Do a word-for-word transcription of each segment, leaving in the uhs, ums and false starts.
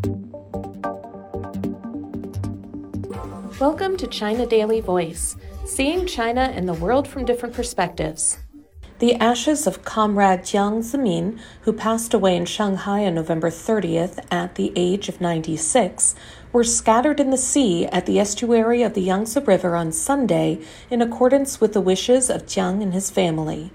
Welcome to China Daily Voice, seeing China and the world from different perspectives. The ashes of Comrade Jiang Zemin, who passed away in Shanghai on November thirtieth at the age of ninety-six, were scattered in the sea at the estuary of the Yangtze River on Sunday in accordance with the wishes of Jiang and his family.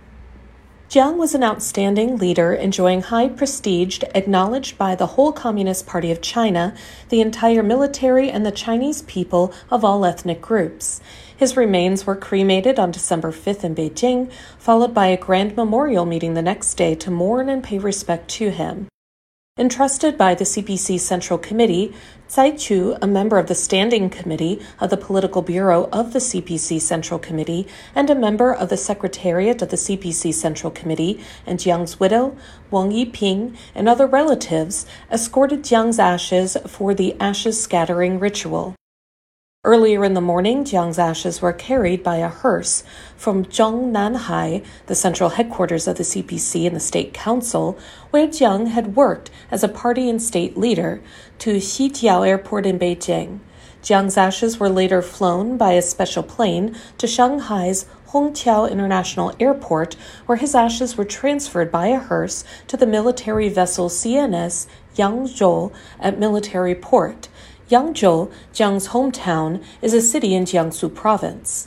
Jiang was an outstanding leader enjoying high prestige acknowledged by the whole Communist Party of China, the entire military, and the Chinese people of all ethnic groups. His remains were cremated on December fifth in Beijing, followed by a grand memorial meeting the next day to mourn and pay respect to him. Entrusted by the C P C Central Committee, Tsai Chu, a member of the Standing Committee of the Political Bureau of the C P C Central Committee and a member of the Secretariat of the C P C Central Committee, and Jiang's widow, Wang Yiping, and other relatives, escorted Jiang's ashes for the ashes scattering ritual. Earlier in the morning, Jiang's ashes were carried by a hearse from Zhongnanhai, the central headquarters of the C P C and the State Council, where Jiang had worked as a party and state leader, to Xijiao Airport in Beijing. Jiang's ashes were later flown by a special plane to Shanghai's Hongqiao International Airport, where his ashes were transferred by a hearse to the military vessel C N S Yangzhou at Military Port. Yangzhou, Jiang's hometown, is a city in Jiangsu province.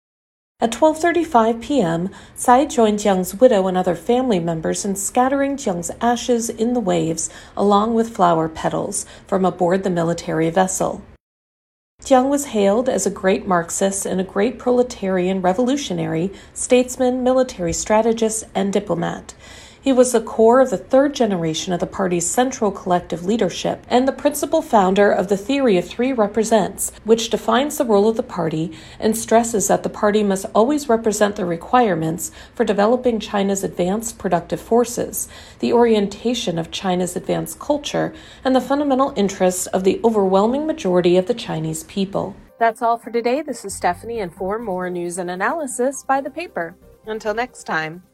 At twelve thirty-five p.m., Tsai joined Jiang's widow and other family members in scattering Jiang's ashes in the waves, along with flower petals, from aboard the military vessel. Jiang was hailed as a great Marxist and a great proletarian revolutionary, statesman, military strategist, and diplomat. He was the core of the third generation of the party's central collective leadership and the principal founder of the theory of three represents, which defines the role of the party and stresses that the party must always represent the requirements for developing China's advanced productive forces, the orientation of China's advanced culture, and the fundamental interests of the overwhelming majority of the Chinese people. That's all for today. This is Stephanie, and for more news and analysis, buy the paper. Until next time.